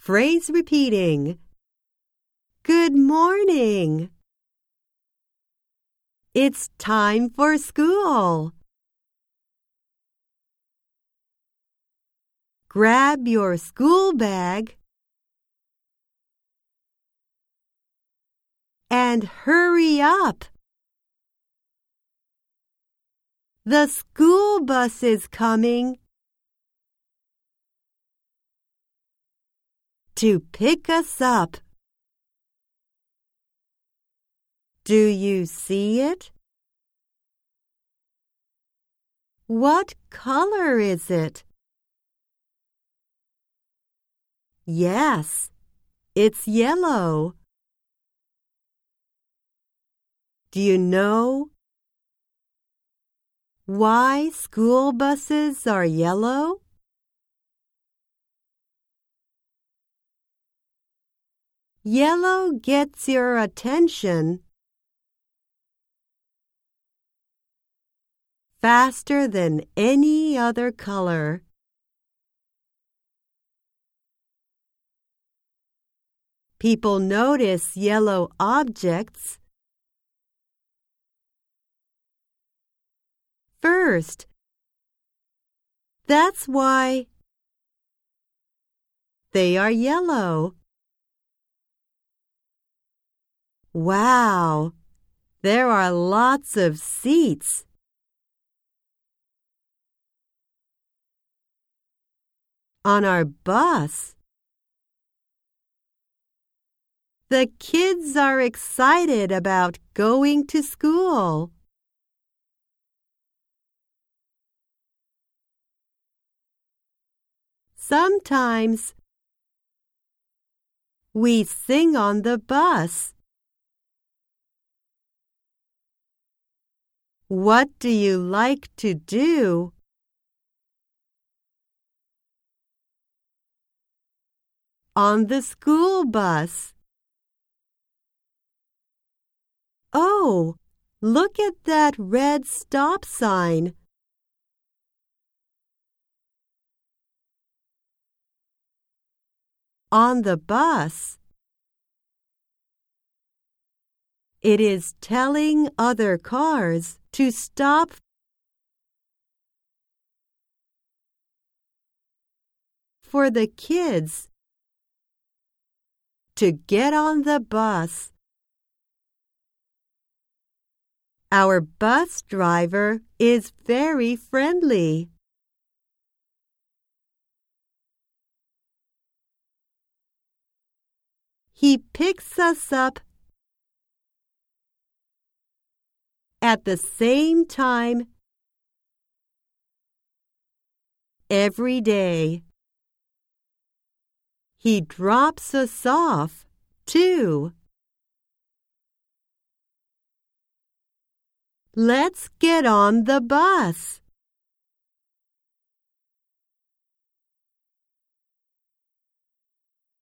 Phrase repeating. Good morning. It's time for school. Grab your school bag and hurry up. The school bus is coming to pick us up. Do you see it? What color is it? Yes, it's yellow. Do you know why school buses are yellow? Yellow gets your attention faster than any other color. People notice yellow objects first. That's why they are yellow. Wow, there are lots of seats. On our bus. The kids are excited about going to school. Sometimes we sing on the bus. What do you like to do? On the school bus. Oh, look at that red stop sign. On the bus. It is telling other cars to stop for the kids to get on the bus. Our bus driver is very friendly. He picks us up at the same time every day. He drops us off, too. Let's get on the bus.